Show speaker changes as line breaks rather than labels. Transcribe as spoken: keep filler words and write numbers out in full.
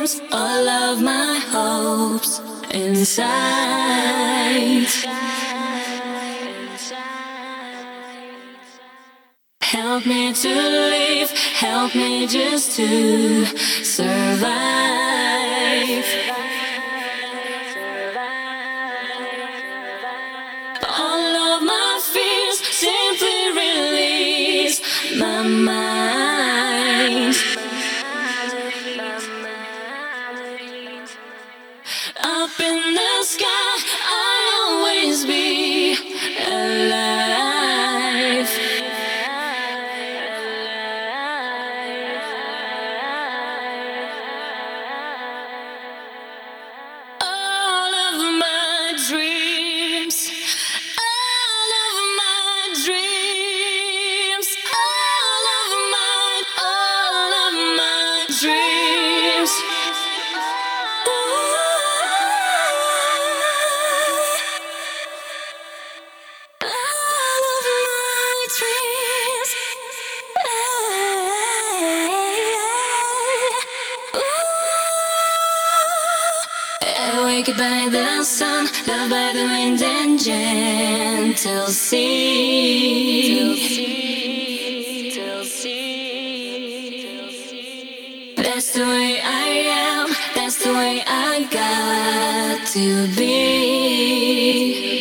dreams, all of my hopes inside. Help me to live, help me just to survive. All of my fears simply release my mind. Up in the sky, I'll always be alive. All of my dreams, all of my dreams, all of my, all of my dreams. Awakened by the sun, loved by the wind and gentle sea. That's the way I am, that's the way I got to be.